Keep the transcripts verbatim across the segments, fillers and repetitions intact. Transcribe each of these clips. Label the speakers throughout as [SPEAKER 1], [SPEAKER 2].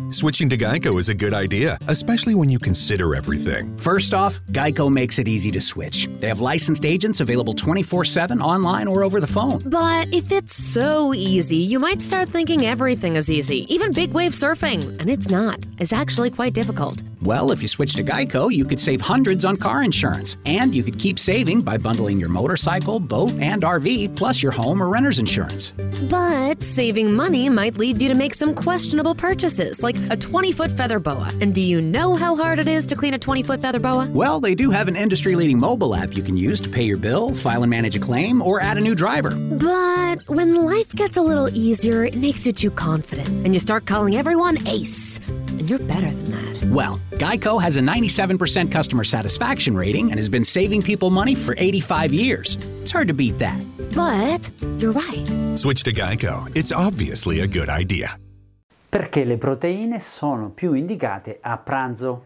[SPEAKER 1] Switching to Geico is a good idea, especially when you consider everything.
[SPEAKER 2] First off, Geico makes it easy to switch. They have licensed agents available twenty-four seven online or over the phone.
[SPEAKER 3] But if it's so easy, you might start thinking everything is easy, even big wave surfing. And it's not. It's actually quite difficult.
[SPEAKER 2] Well, if you switch to Geico, you could save hundreds on car insurance. And you could keep saving by bundling your motorcycle, boat, and R V, plus your home or renter's insurance.
[SPEAKER 3] But saving money might lead you to make some questionable purchases, like a twenty-foot feather boa. And do you know how hard it is to clean a twenty-foot feather boa?
[SPEAKER 2] Well, they do have an industry-leading mobile app you can use to pay your bill, file and manage a claim, or add a new driver.
[SPEAKER 3] But when life gets a little easier, it makes you too confident, and you start calling everyone Ace. And you're better than that.
[SPEAKER 2] Well, Geico has a ninety-seven percent customer satisfaction rating and has been saving people money for eighty-five years. It's hard to beat that.
[SPEAKER 3] But you're right.
[SPEAKER 1] Switch to Geico. It's obviously a good idea.
[SPEAKER 4] Perché le proteine sono più indicate a pranzo?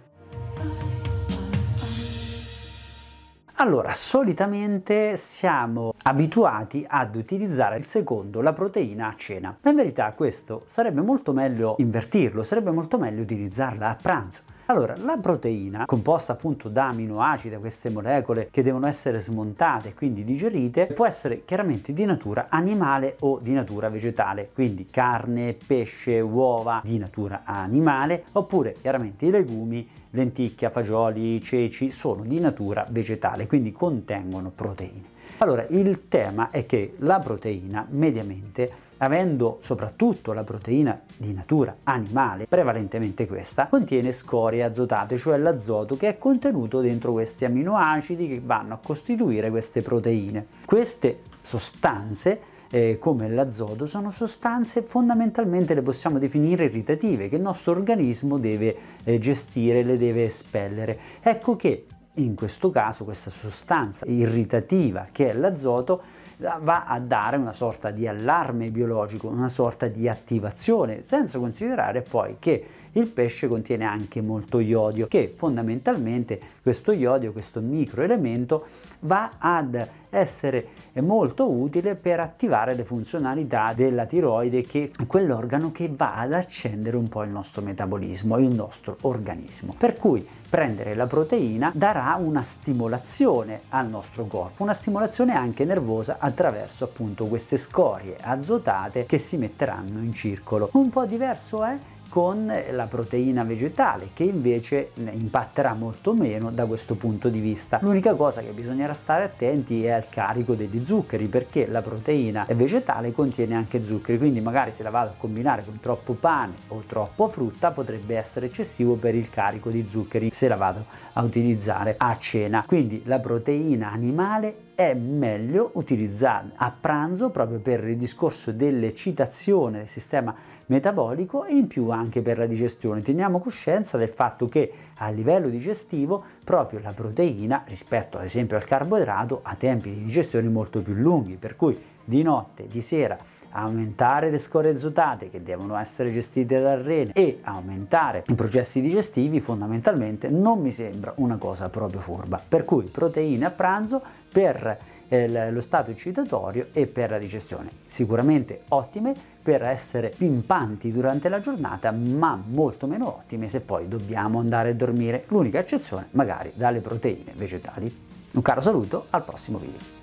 [SPEAKER 4] Allora, solitamente siamo abituati ad utilizzare il secondo, la proteina, a cena. Ma in verità questo sarebbe molto meglio invertirlo, sarebbe molto meglio utilizzarla a pranzo. Allora, la proteina, composta appunto da aminoacidi, queste molecole che devono essere smontate e quindi digerite, può essere chiaramente di natura animale o di natura vegetale, quindi carne, pesce, uova di natura animale, oppure chiaramente i legumi, lenticchia, fagioli, ceci sono di natura vegetale, quindi contengono proteine. Allora, il tema è che la proteina, mediamente, avendo soprattutto la proteina di natura animale, prevalentemente questa, contiene scorie azotate, cioè l'azoto che è contenuto dentro questi aminoacidi che vanno a costituire queste proteine. Queste sostanze, eh, come l'azoto, sono sostanze fondamentalmente le possiamo definire irritative, che il nostro organismo deve eh, gestire, le deve espellere. Ecco che in questo caso questa sostanza irritativa che è l'azoto va a dare una sorta di allarme biologico, una sorta di attivazione, senza considerare poi che il pesce contiene anche molto iodio, che fondamentalmente questo iodio, questo microelemento, va ad essere molto utile per attivare le funzionalità della tiroide, che è quell'organo che va ad accendere un po' il nostro metabolismo, il nostro organismo. Per cui prendere la proteina darà una stimolazione al nostro corpo, una stimolazione anche nervosa attraverso appunto queste scorie azotate che si metteranno in circolo. Un po' diverso è con la proteina vegetale, che invece impatterà molto meno da questo punto di vista. L'unica cosa che bisognerà stare attenti è al carico degli zuccheri, perché la proteina vegetale contiene anche zuccheri, quindi magari se la vado a combinare con troppo pane o troppo frutta potrebbe essere eccessivo per il carico di zuccheri se la vado a utilizzare a cena. Quindi la proteina animale è meglio utilizzarla a pranzo proprio per il discorso dell'eccitazione del sistema metabolico e in più anche per la digestione. Teniamo coscienza del fatto che a livello digestivo proprio la proteina, rispetto ad esempio al carboidrato, ha tempi di digestione molto più lunghi, per cui di notte, di sera, aumentare le scorie azotate che devono essere gestite dal rene e aumentare i processi digestivi fondamentalmente non mi sembra una cosa proprio furba. Per cui proteine a pranzo per eh, lo stato eccitatorio e per la digestione, sicuramente ottime per essere pimpanti durante la giornata, ma molto meno ottime se poi dobbiamo andare a dormire. L'unica eccezione magari dalle proteine vegetali. Un caro saluto, al prossimo video.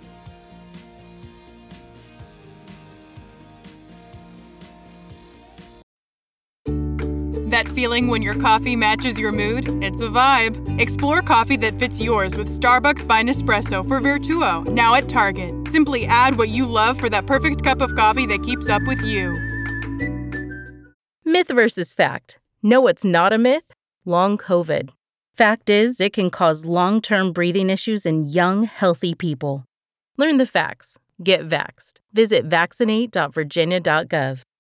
[SPEAKER 5] That feeling when your coffee matches your mood? It's a vibe. Explore coffee that fits yours with Starbucks by Nespresso for Vertuo, now at Target. Simply add what you love for that perfect cup of coffee that keeps up with you.
[SPEAKER 6] Myth versus fact. Know what's not a myth? Long COVID. Fact is, it can cause long-term breathing issues in young, healthy people. Learn the facts. Get vaxxed. Visit vaccinate dot virginia dot gov.